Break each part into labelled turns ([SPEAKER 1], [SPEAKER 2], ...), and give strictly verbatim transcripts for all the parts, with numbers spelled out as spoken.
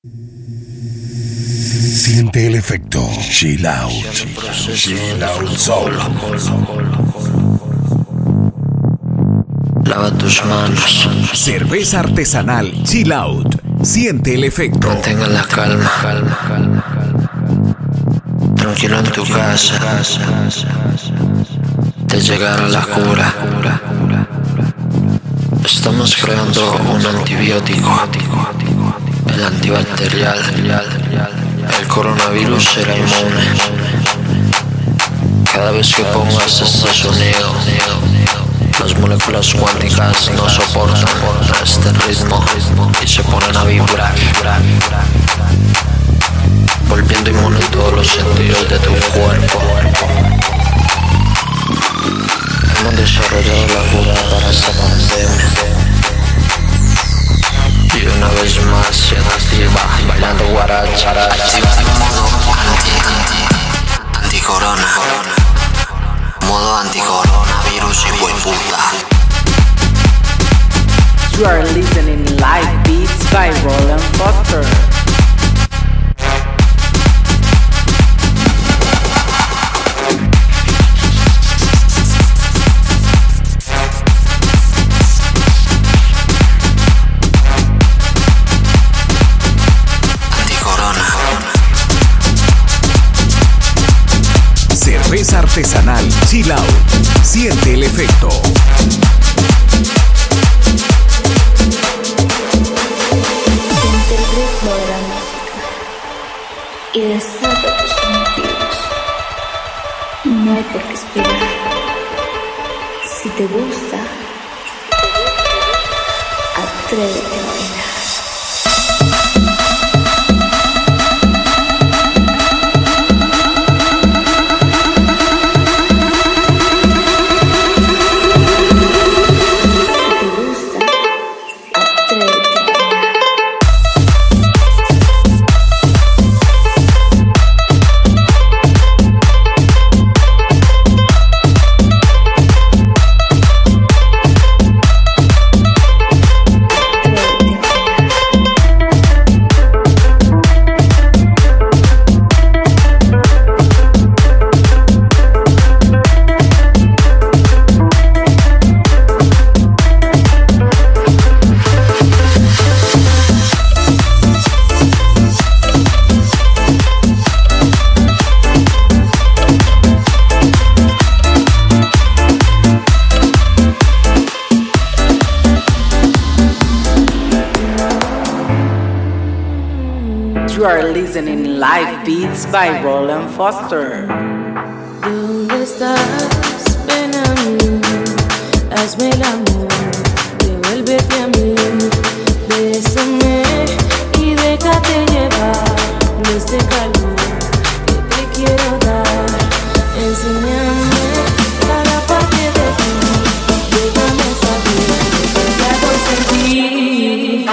[SPEAKER 1] Siente el efecto Chill Out. Chill Out Soul.
[SPEAKER 2] Lava tus manos.
[SPEAKER 1] Cerveza artesanal Chill Out. Siente el efecto.
[SPEAKER 2] Mantenga la calma, calma, calma, calma. Tranquilo en tu casa. Te llegará la cura. Estamos creando un antibiótico, el antibacterial. El coronavirus será inmune. Cada vez que pongas este sonido, las moléculas cuánticas no soportan este ritmo y se ponen a vibrar, volviendo inmune todos los sentidos de tu cuerpo. Hemos desarrollado la cura para esta pandemia y una vez más se activa bailando guaracha. Activando modo anti, anti, anticorona, modo anticoronavirus y hueputa.
[SPEAKER 3] You are listening live beats by Roland Foster.
[SPEAKER 1] Cerveza artesanal Chill Out. Siente el efecto.
[SPEAKER 4] Siente el ritmo de la música y desata tus sentidos. No hay por qué esperar. Si te gusta, atrévete a bailar.
[SPEAKER 3] You are listening live beats by Roland Foster.
[SPEAKER 5] ¿Dónde estás? Ven a mí, hazme el amor, devuélvete a mí, bésame y déjate llevar de este calor que te quiero dar. Enséñame cada parte de ti, déjame saber lo que hago sentir.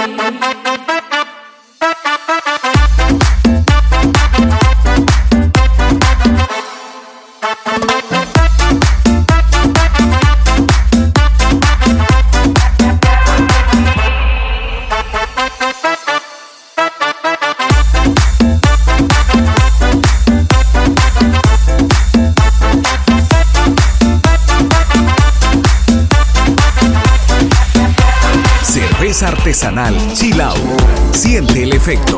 [SPEAKER 1] Cerveza artesanal Chill Out. Siente el efecto.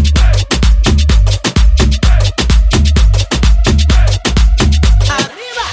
[SPEAKER 5] Arriba.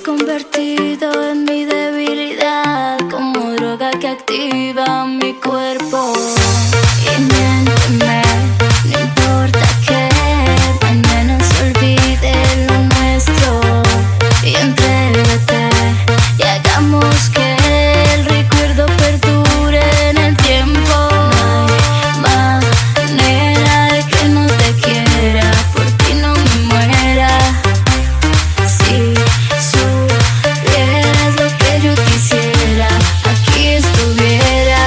[SPEAKER 4] convertido en mi debilidad, como droga que activa mi cuerpo. Y miénteme, no importa que mañana se olvide lo nuestro. Y entrégate y hagamos que el recuerdo perdure en el tiempo. No hay manera de que no te quiera, por ti no me muera. Si supieras lo que yo quisiera, aquí estuviera.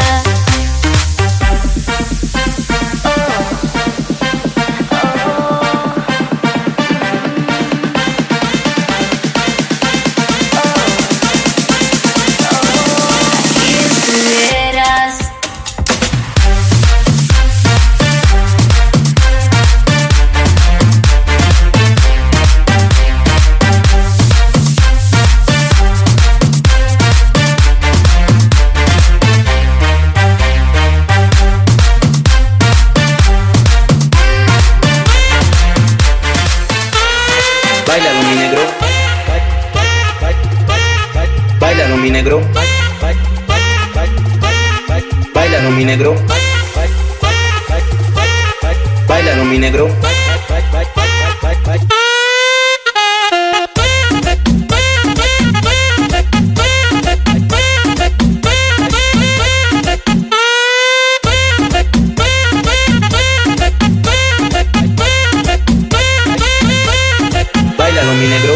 [SPEAKER 4] Aquí estuvieras.
[SPEAKER 6] Báilalo mi negro, báilalo mi negro, báilalo mi negro, báilalo mi negro. Báilalo mi negro.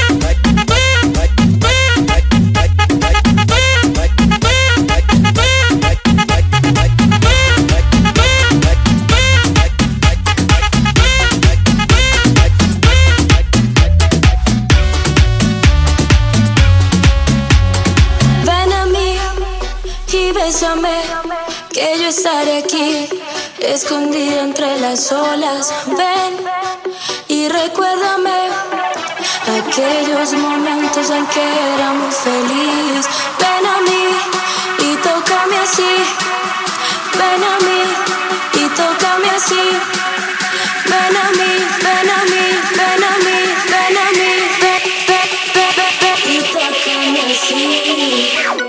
[SPEAKER 4] Ven a mí y bésame, que yo estaré aquí, escondida entre las olas. Ven y recuérdame aquellos momentos en que éramos felices. Ven a mí y tócame así. Ven a mí y tócame así. Ven a mí, ven a mí, ven a mí, ven a mí, ven, ven, ven, ven, ven, y tócame así.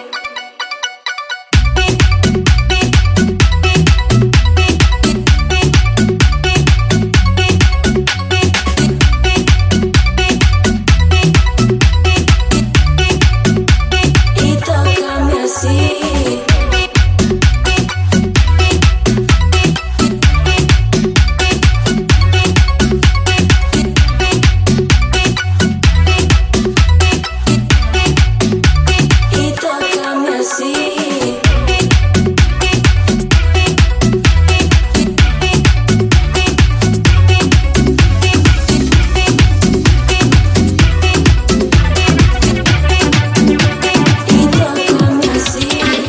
[SPEAKER 4] Y tócame así. Y tócame así. Y tócame así.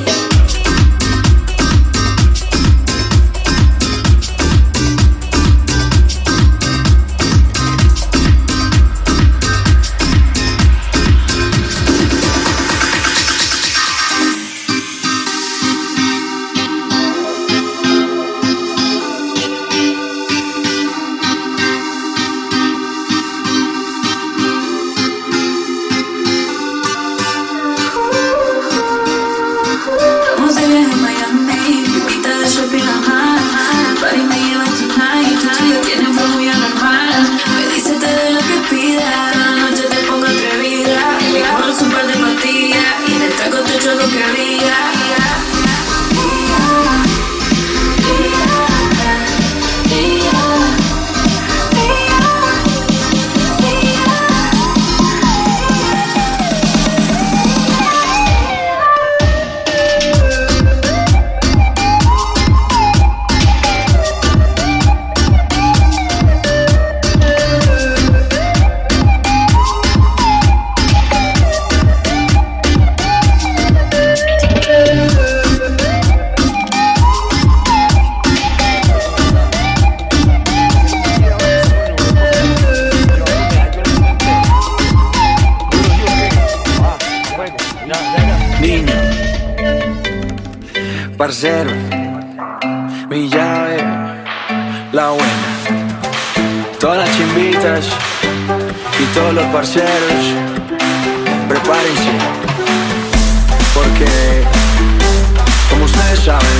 [SPEAKER 4] Estamos de viaje en Miami, pipita de shopping a mar. El party me lleva tonight, tu chica tiene un flow muy anormal. Me dice te doy lo que pida, cada noche te pongo atrevida. Y le pongo un par de pastillas y le traigo todo hecho lo que había.
[SPEAKER 7] Niño, parcero, mi llave, la buena. Todas las chimbitas y todos los parceros, prepárense, porque, como ustedes saben,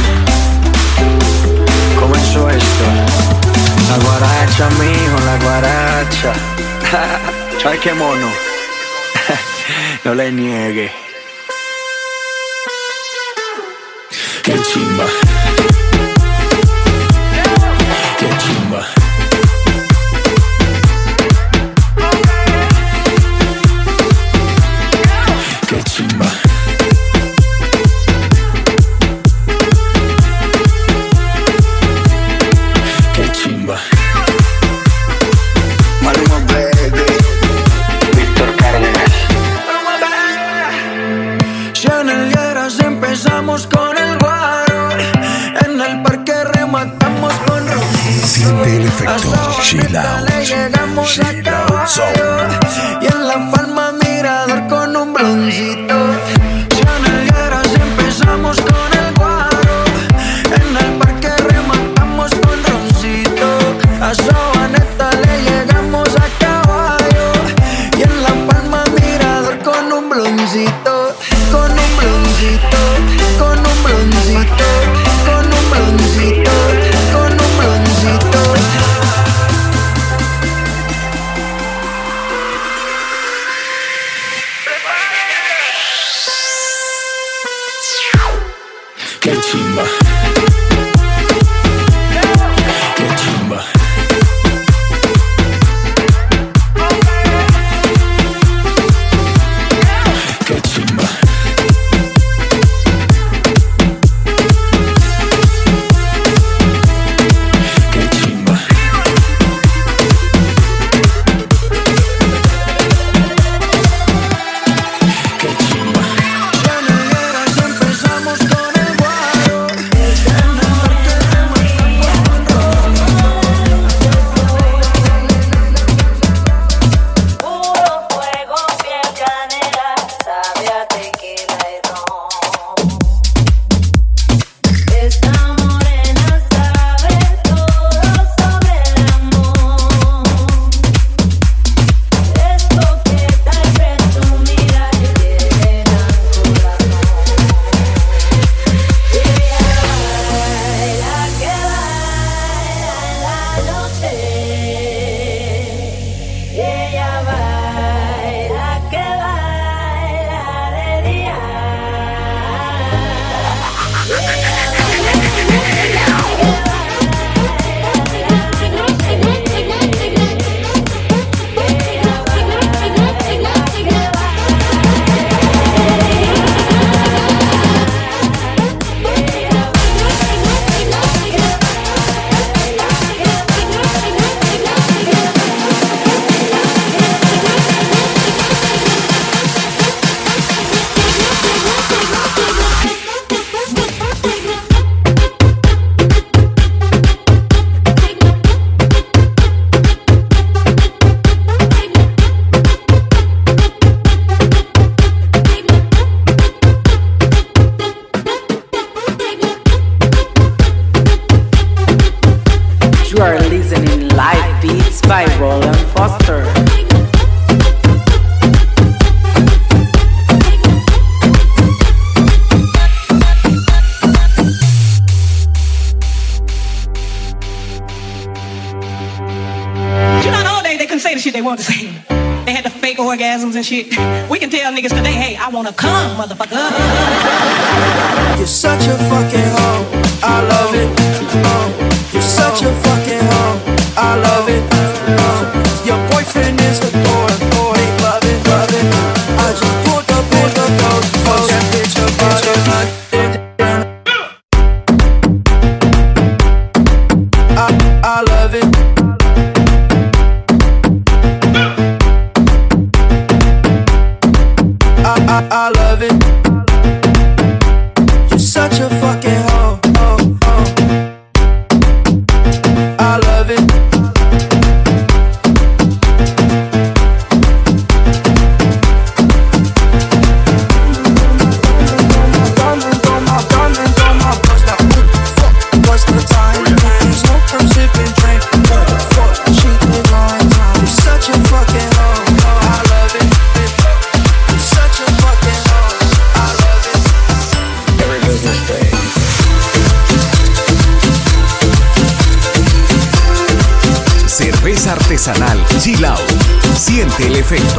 [SPEAKER 7] comenzó esto. La guaracha, mijo, la guaracha. ¿Sabes qué mono? No le niegue.
[SPEAKER 1] Qué chimba. Qué chimba. Qué chimba. Qué chimba.
[SPEAKER 2] Maluma baby, Víctor Cárdenas.
[SPEAKER 7] Si en el Lleras empezamos con el guaro, en el parque rematamos con Rosita.
[SPEAKER 1] Siente el efecto Chill Out. Chill Out Zone.
[SPEAKER 7] Y en La Palma Mirador con un bloncito. Si en el Lleras empezamos con el guaro, en el parque rematamos con Roncito. A Sabaneta le llegamos a caballo, y en La Palma Mirador con un bloncito, con un bloncito, con un bloncito, con un bloncito, con un bloncito.
[SPEAKER 1] Qué chimba. Qué chimba. Qué chimba. Qué chimba. Qué chimba.
[SPEAKER 7] Si en el Lleras empezamos con el guaro, en el parque rematamos con
[SPEAKER 5] Puro fuego, piel canela, sabe a tequila y ron. Esta morena sabe todo sobre el amor. Es coqueta y presumida y tiene gran corazón. Y ella baila que baila en la noche. Y ella baila que baila de día.
[SPEAKER 3] You are listening live beats by Roland Foster.
[SPEAKER 8] You know, nowadays they couldn't say the shit they wanted to say. They had the fake orgasms and shit. We can tell niggas today, hey, I wanna come, motherfucker.
[SPEAKER 7] You're such a fucking hoe, I love it. Oh, you're such a fucking hoe, I love it. Oh, your boyfriend is a boy, boy, love it, love it. I just pulled up in the coat, fuck that bitch up, bitch up. I, I love it. I, I, I love it. You're such a fucking hoe, oh, oh. I love it.
[SPEAKER 1] efecto.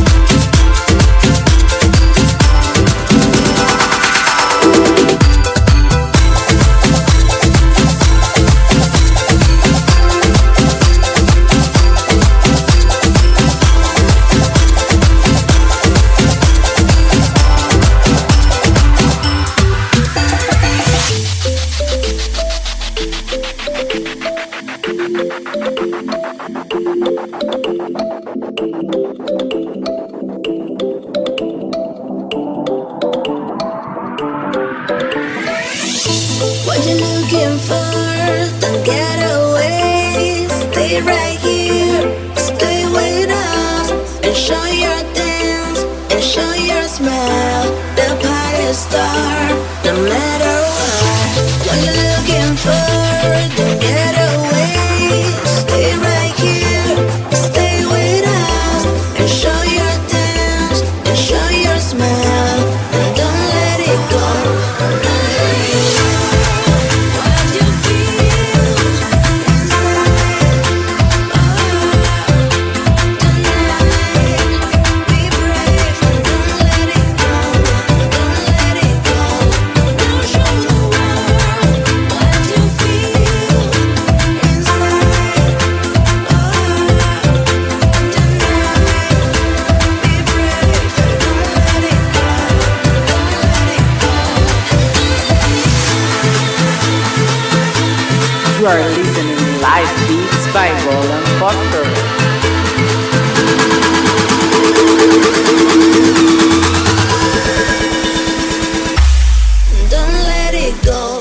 [SPEAKER 9] What you looking for? Don't get away. Stay right here. Stay with us and show your dance and show your smile. The party star, no matter what. What you looking for? Don't get away. Stay right here. Stay with us and show your dance and show your smile. And don't let it go.
[SPEAKER 3] You are listening Live Beats by Roland Foster.
[SPEAKER 9] Don't let it go.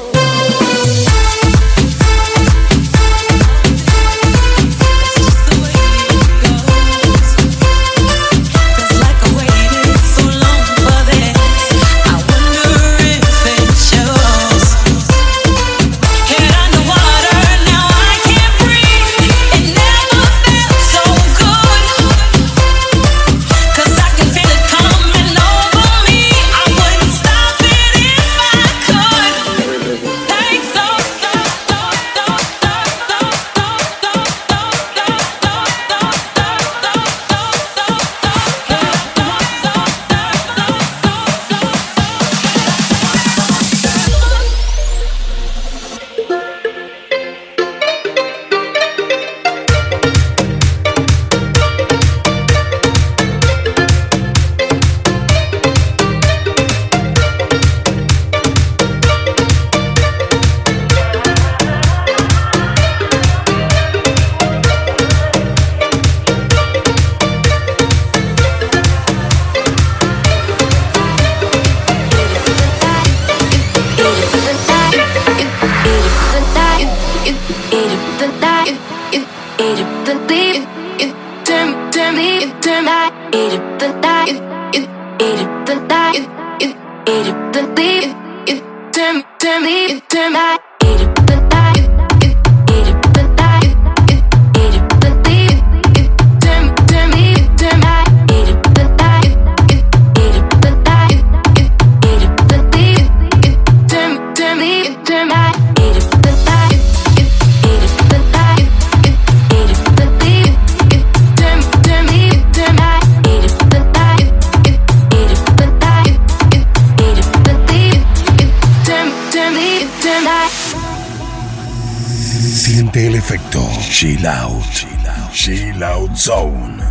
[SPEAKER 1] Siente el efecto Chill Out, Chill Out Zone.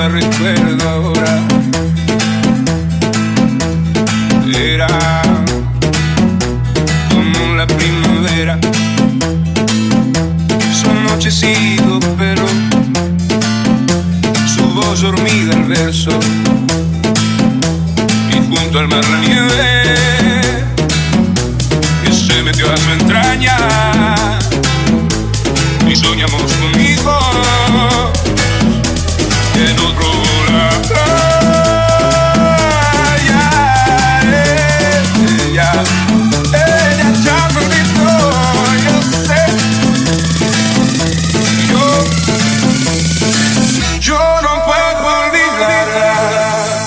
[SPEAKER 10] la recuerdo ahora. Era como la primavera, su anochecido pelo, su voz dormida al verso, y junto al mar la nieve que se metió a su entraña, y soñamos conmigo en otro lado. Ella, ella ya me olvidó, yo sé. Yo, yo no puedo olvidarla.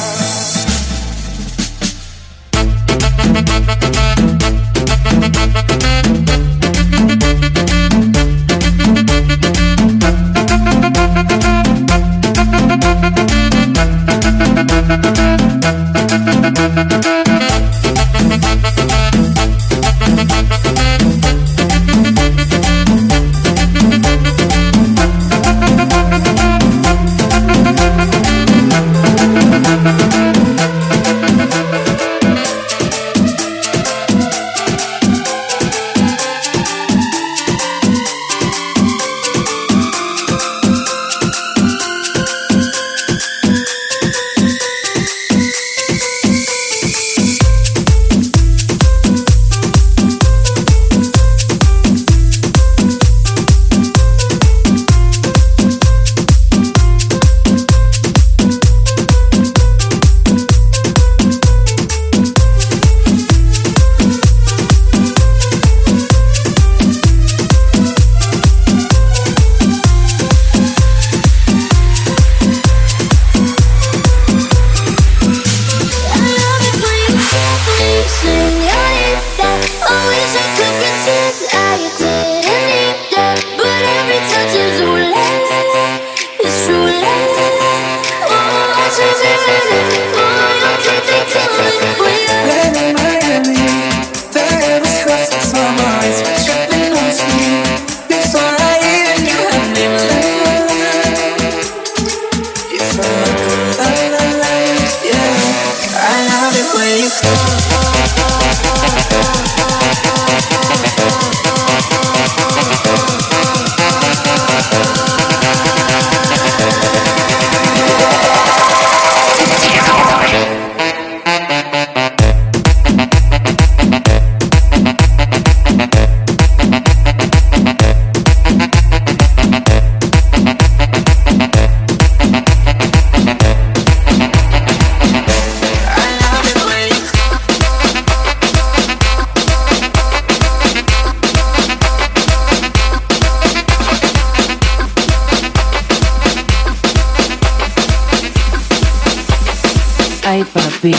[SPEAKER 3] Ay, papi.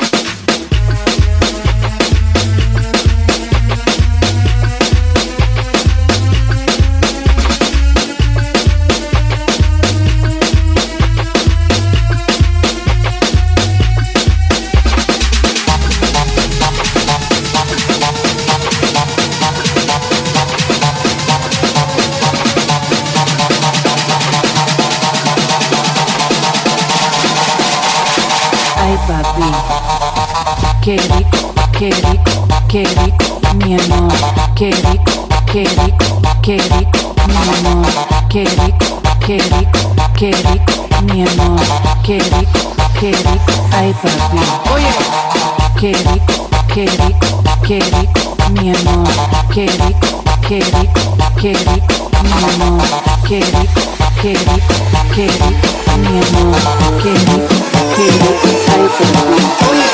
[SPEAKER 3] Ay, papi, qué rico, qué rico, qué rico, mi amor, qué rico, qué rico, qué rico, mi amor, qué rico, qué rico, qué rico, mi amor, qué rico, qué rico, ay, papi, oye, qué rico, qué rico, qué rico, mi amor, qué rico, qué rico, qué rico, mi amor, qué rico, qué rico, qué rico, mi amor, qué rico, qué rico, ay, papi, oye.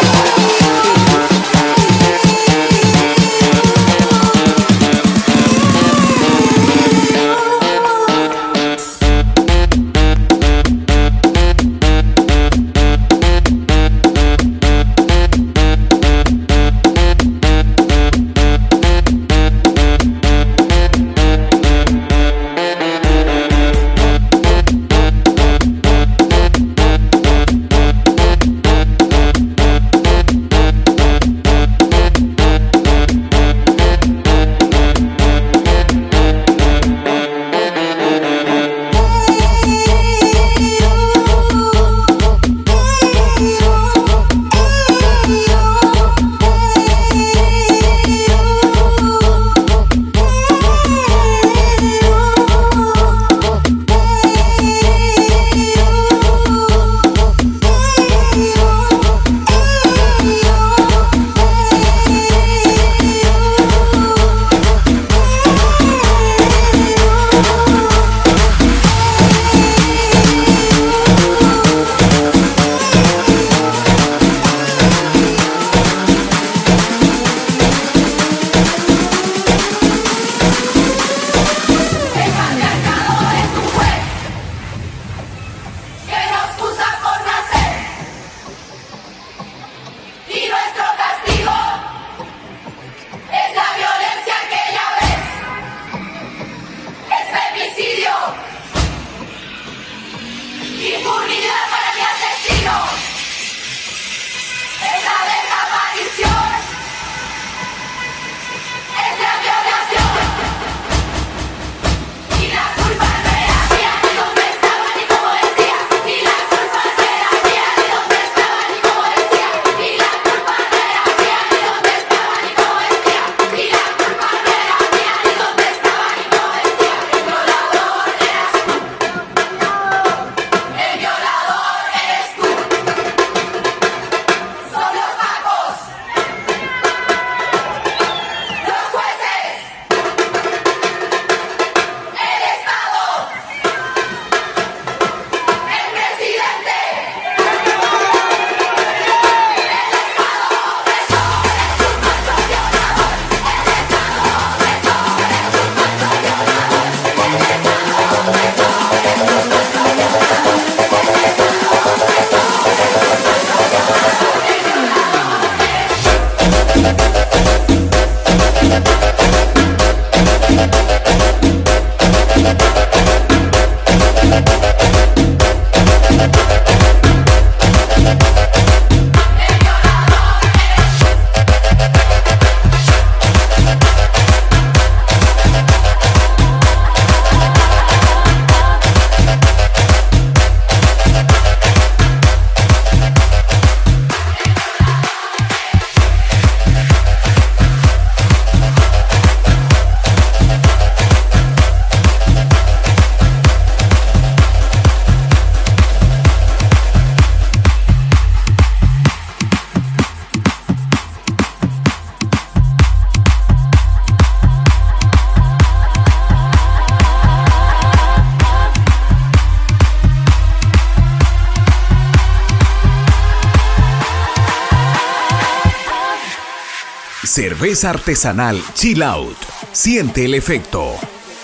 [SPEAKER 1] Cerveza artesanal Chill Out. Siente el efecto.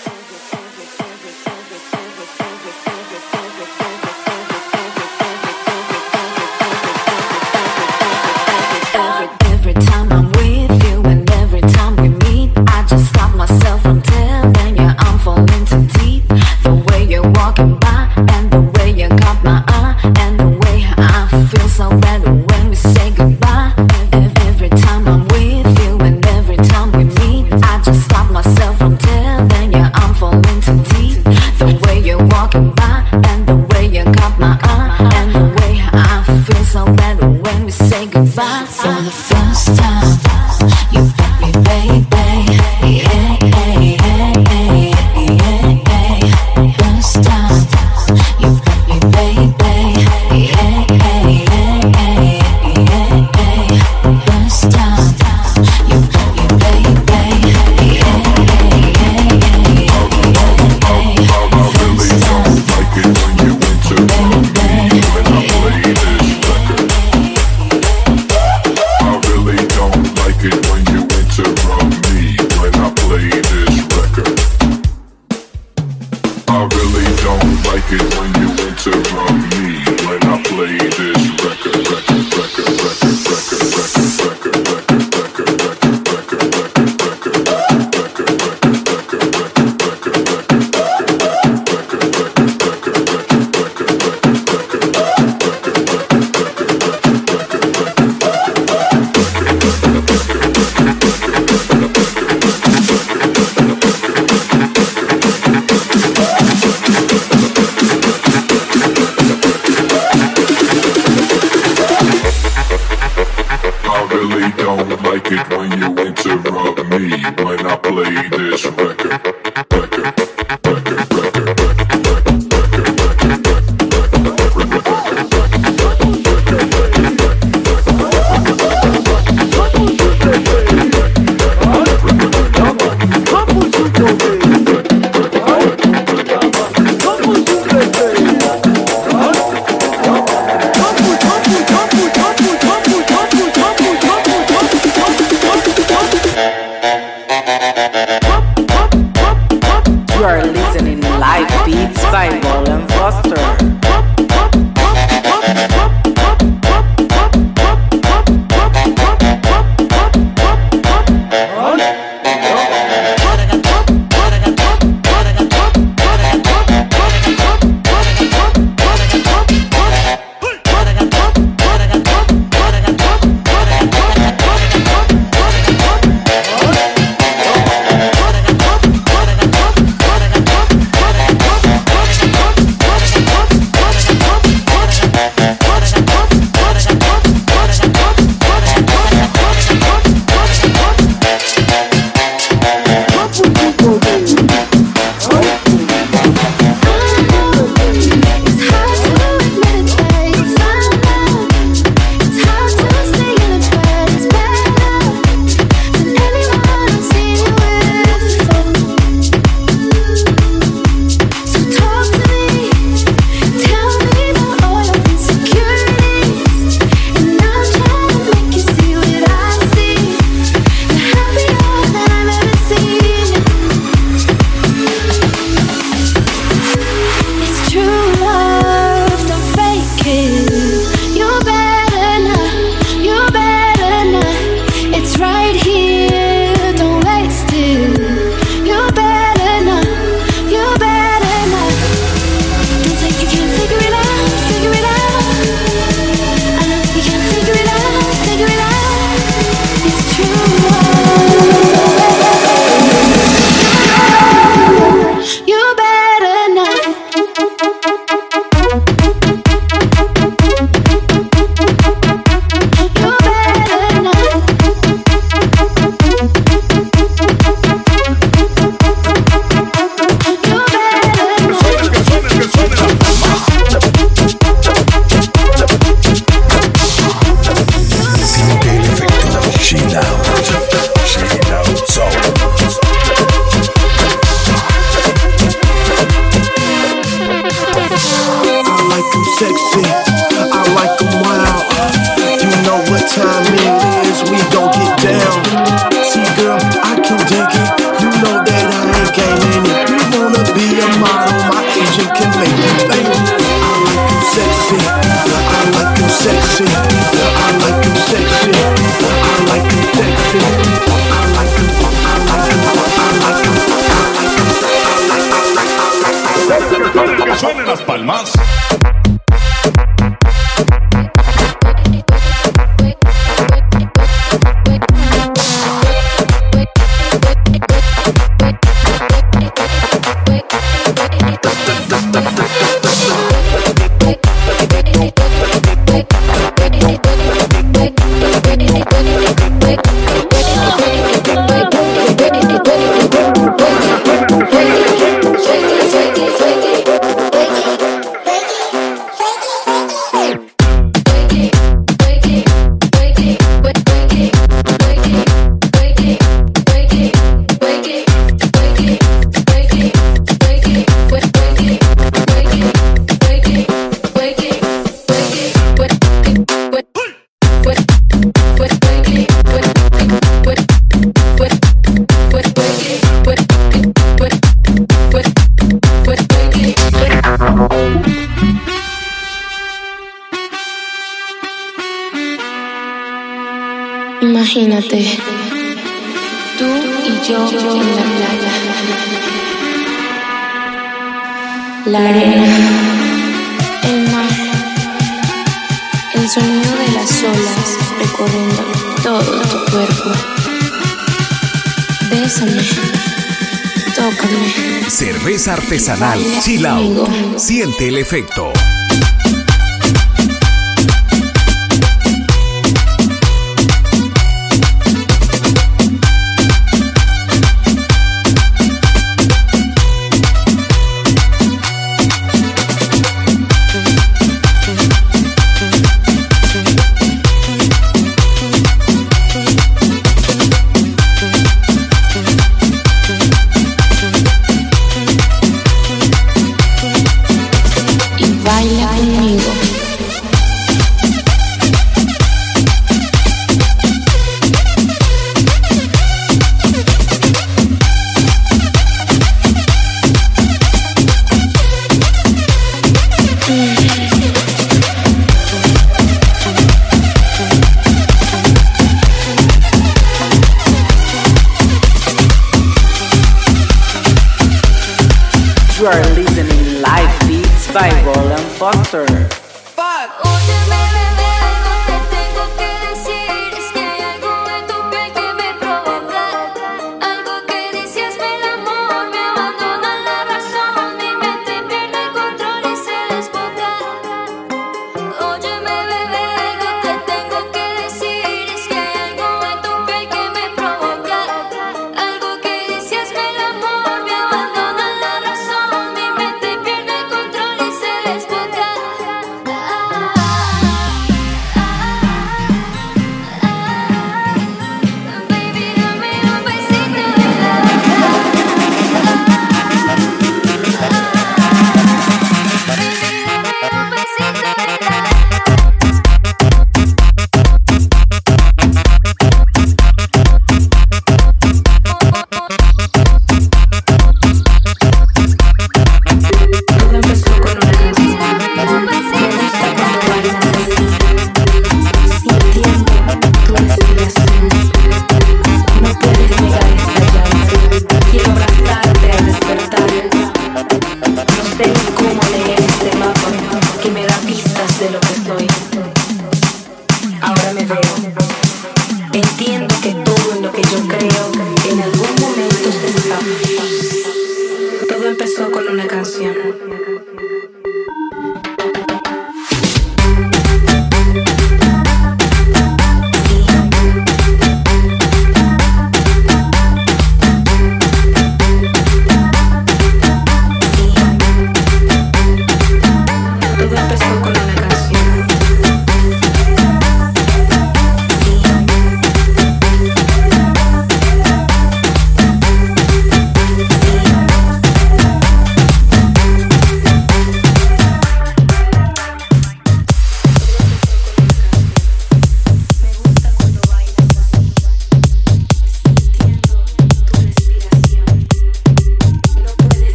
[SPEAKER 11] sexy, I like them wild. You know what time it is, we gon' get down. Imagínate, tú y yo en la playa, la arena, el mar, el sonido de las olas recorriendo todo tu cuerpo. Bésame, tócame.
[SPEAKER 1] Cerveza artesanal Chill Out. Siente el efecto.
[SPEAKER 12] You are listening live beats by Roland Foster.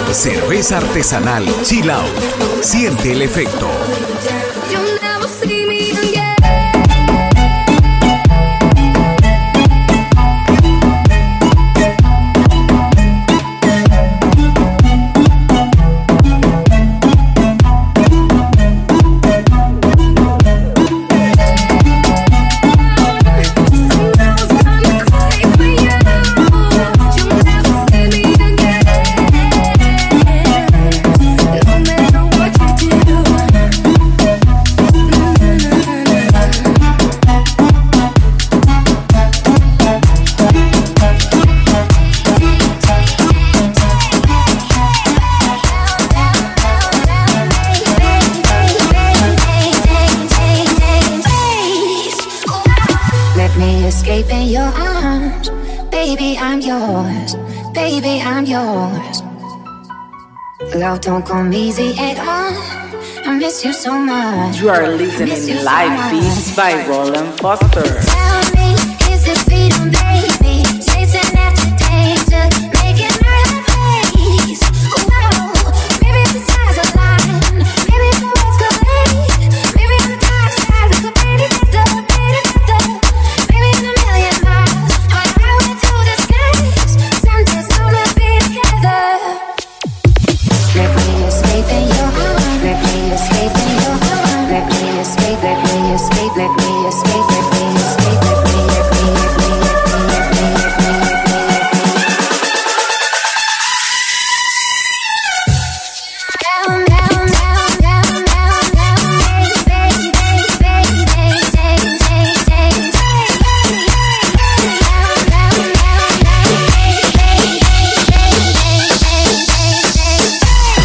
[SPEAKER 1] Cerveza artesanal Chill Out. Siente el efecto.
[SPEAKER 13] Love don't come easy at all. I miss you so much.
[SPEAKER 12] You are listening live beats by Roland Foster.
[SPEAKER 13] Tell me, is this freedom, baby? Chasing after danger, making my face. Whoa, maybe the stars align. Maybe the words collide. Maybe on the dark side we could be together, be together. Maybe in a million miles, on the highway to the skies. Someday soon we'll be together. Let me escape in your arms. Let me escape in your arms. Let me escape. Let me escape. Let me escape. Let me escape. Let me. Let me. Let me. Let me. Let me. Down, down, down, down, down, down, baby, baby, baby, baby, baby, baby, baby, baby. Down, down, down, down, baby, baby, baby, baby, baby, baby, baby.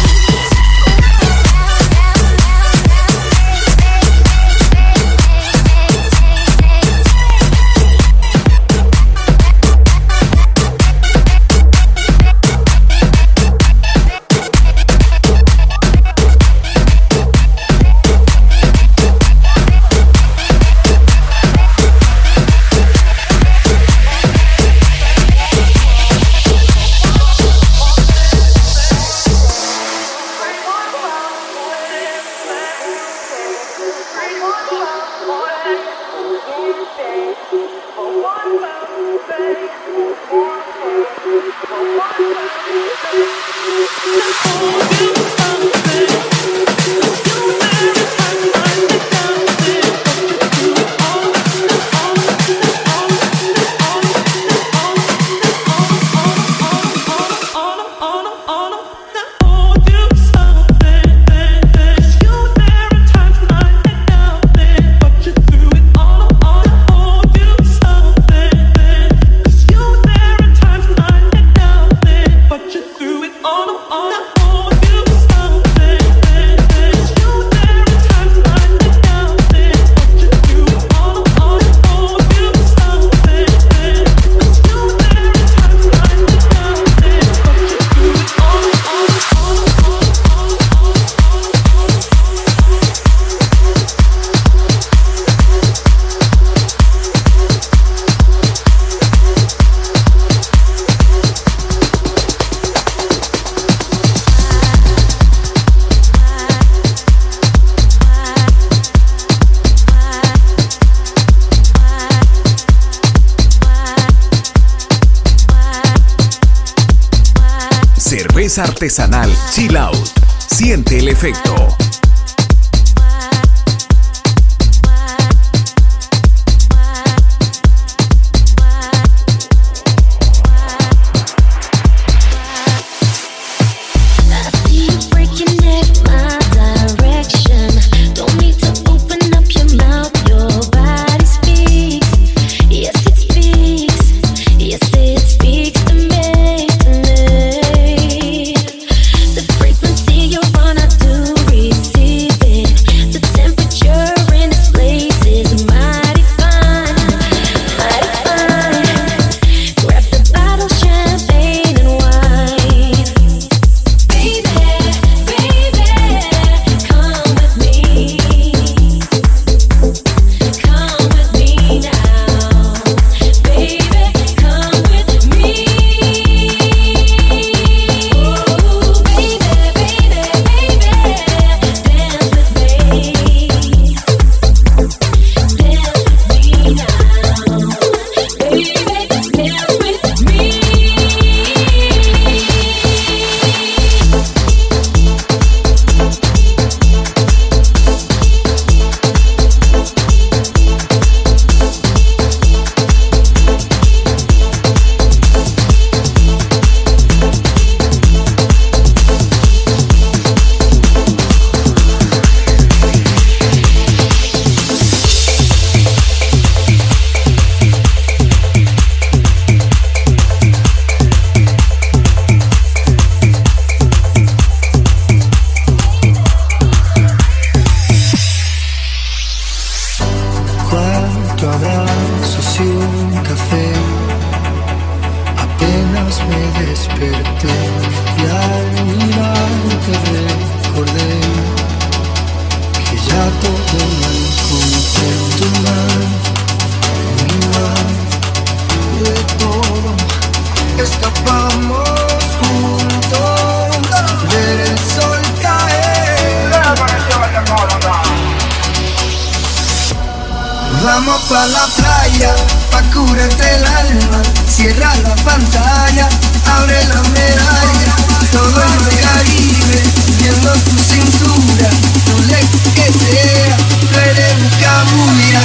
[SPEAKER 1] Cerveza artesanal Chill Out. Siente el efecto.
[SPEAKER 13] Frequency you're gonna do receive.
[SPEAKER 7] Vamos pa' la playa, pa' curarte el alma. Cierra la pantalla, abre la medalla. Todo en el Caribe, viendo tu cintura. No le que sea, tú eres un cabuya.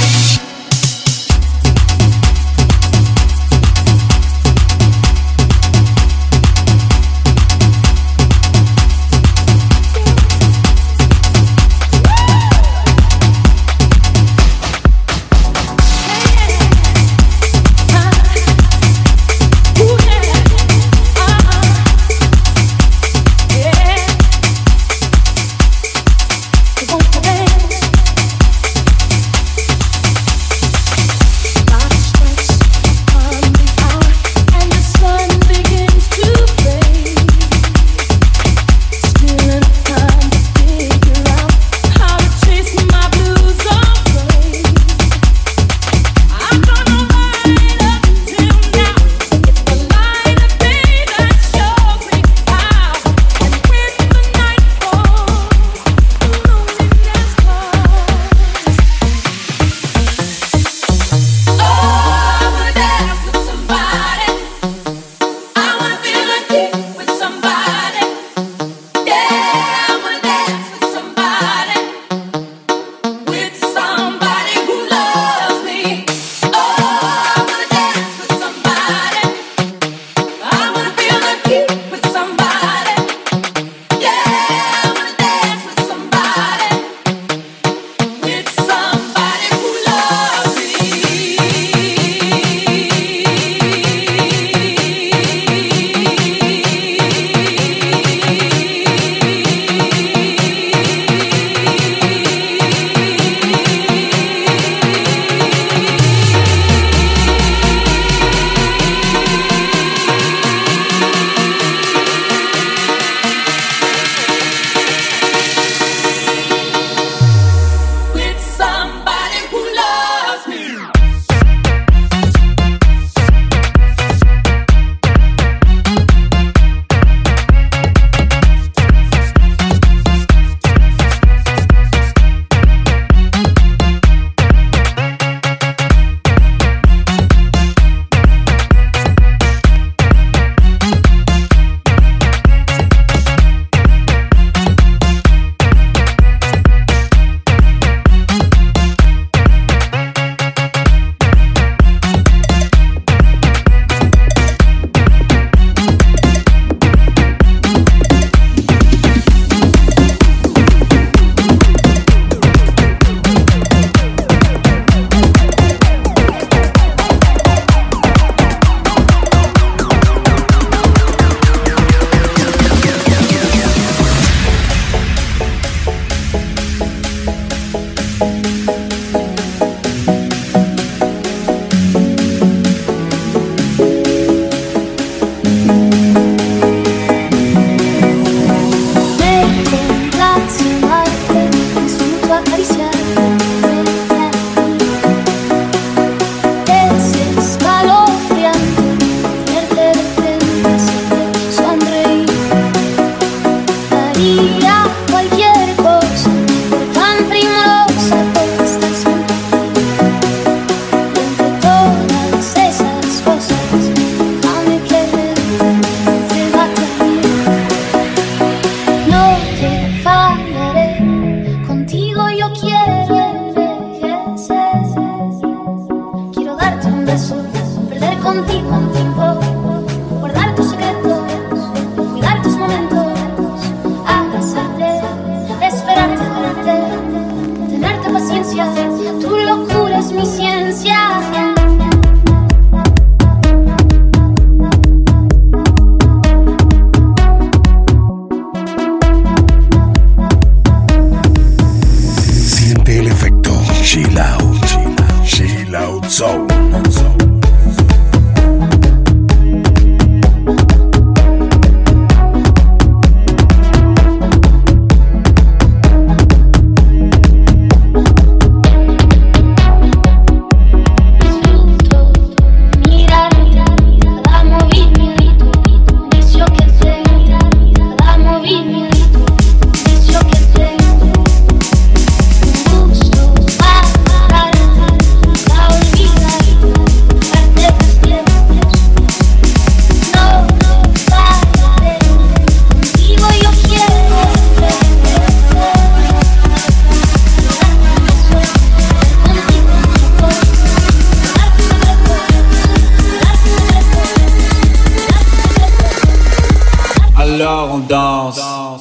[SPEAKER 14] Alors on danse.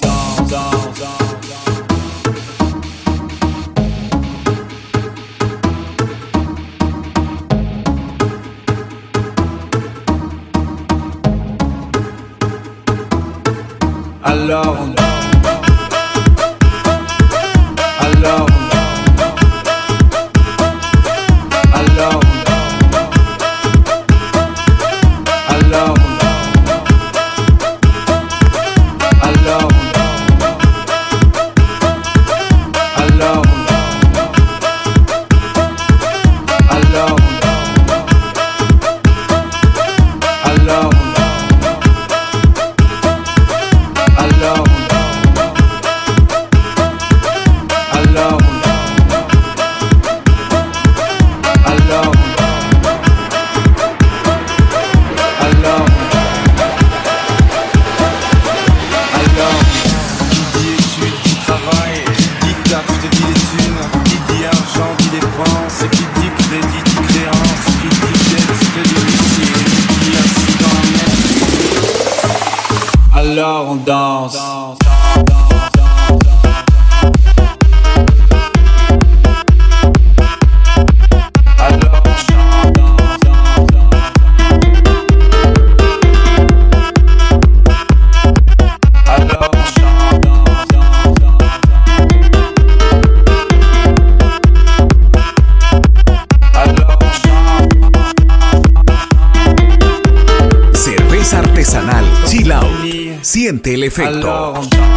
[SPEAKER 14] Alors on danse. Alors on danse. Alors on danse. Alors on danse. Alors on danse.
[SPEAKER 1] Artesanal Chill Out. Siente el efecto.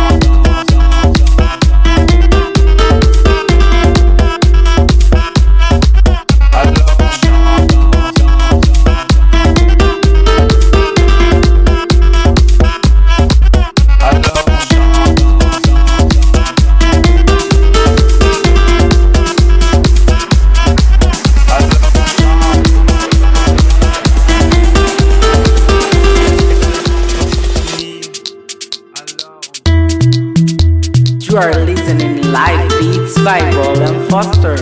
[SPEAKER 12] You are listening live beats by Roland Foster.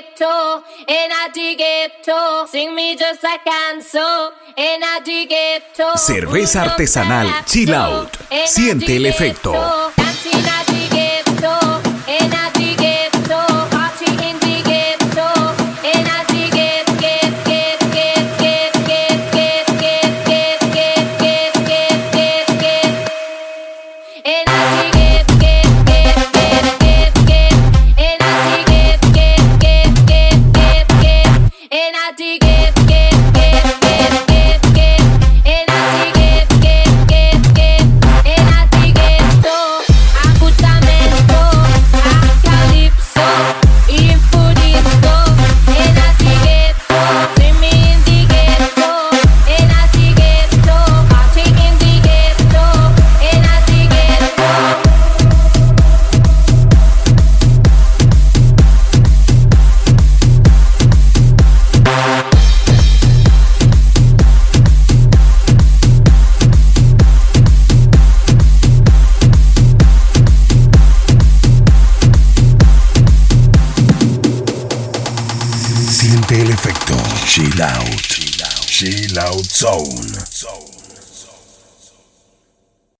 [SPEAKER 15] ghetto, and I dig ghetto. Sing me just like I'm so, and I dig ghetto.
[SPEAKER 1] Cerveza artesanal Chill Out. Siente el efecto.
[SPEAKER 15] Dancing I dig ghetto, and I dig ghetto. Party in the ghetto, and I dig get get get get get get get get get get get get get get. And I dig get get get get get get. And I dig get get get get get get. And I dig get get get get get get. And I dig get get get get. And I dig ghetto, acutamente, a calypso, info disco. And I dig ghetto, see me in the ghetto. And I dig ghetto, party in the ghetto. And I dig ghetto.
[SPEAKER 1] Siente el efecto Chill Out. Chill Out Zone.